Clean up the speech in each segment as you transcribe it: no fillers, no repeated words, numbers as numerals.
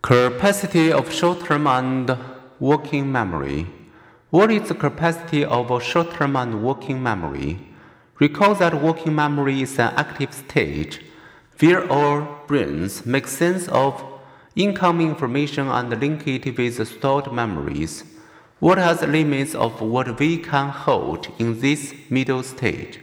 Capacity of short-term and working memory. What is the capacity of short-term and working memory? Recall that working memory is an active state where our brains make sense of incoming information and link it with stored memories. What are the limits of what we can hold in this middle stage?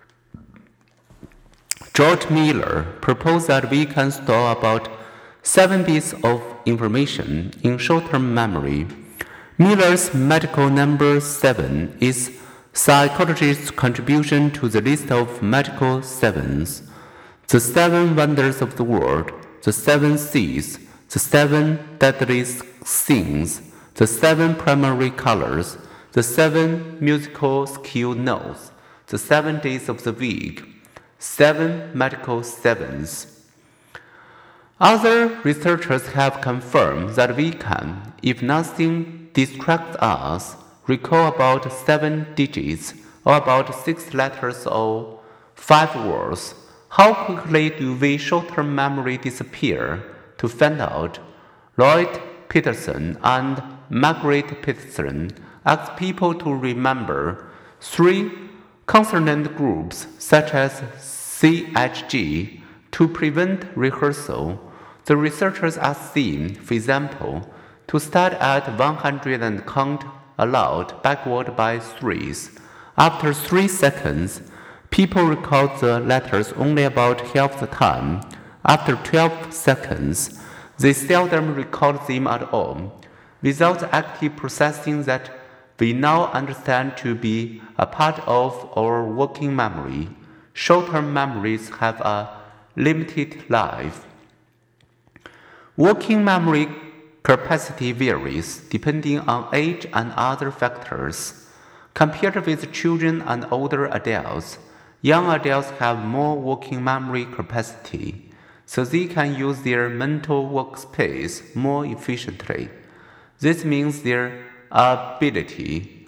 George Miller proposed that we can store about 7 bits of information in short-term memory. Miller's magical number 7 is psychologists' contribution to the list of magical sevens. The 7 wonders of the world, the 7 seas, the 7 deadly sins, the 7 primary colors, the 7 musical skill notes, the 7 days of the week, 7 magical sevens. Other researchers have confirmed that we can, if nothing distracts us, recall about 7 digits or about 6 letters or 5 words. How quickly do we short-term memory disappear? To find out, Lloyd Peterson and Margaret Peterson asked people to remember 3 consonant groups such as CHG to prevent rehearsal. The researchers asked them, for example, to start at 100 and count aloud backward by 3s. After 3 seconds, people recalled the letters only about half the time. After 12 seconds, they seldom recalled them at all. Without the active processing that we now understand to be a part of our working memory, short-term memories have a limited life. Working memory capacity varies depending on age and other factors. Compared with children and older adults, young adults have more working memory capacity, so they can use their mental workspace more efficiently. This means their ability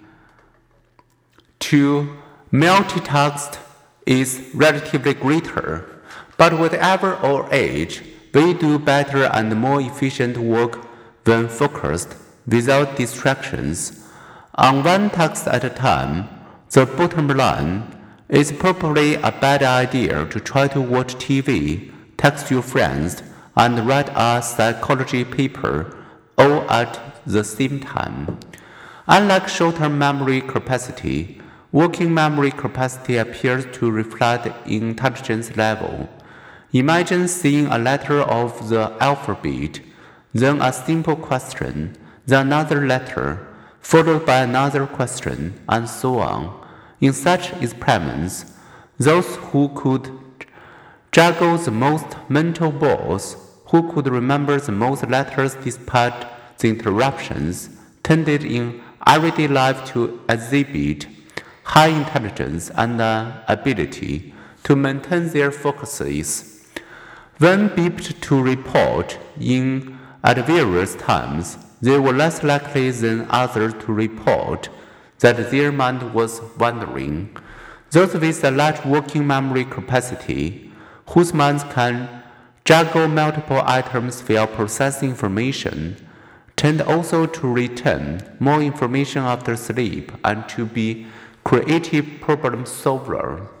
to multitask is relatively greater. But whatever our age, we do better and more efficient work when focused, without distractions, on one task at a time. The bottom line, it's probably a bad idea to try to watch TV, text your friends, and write a psychology paper all at the same time. Unlike short-term memory capacity, working memory capacity appears to reflect intelligence level. Imagine seeing a letter of the alphabet, then a simple question, then another letter, followed by another question, and so on. In such experiments, those who could juggle the most mental balls, who could remember the most letters despite the interruptions, tended in everyday life to exhibit high intelligence and ability to maintain their focuses. When beeped to report in at various times, they were less likely than others to report that their mind was wandering. Those with a large working memory capacity, whose minds can juggle multiple items while processing information, tend also to retain more information after sleep and to be creative problem solvers.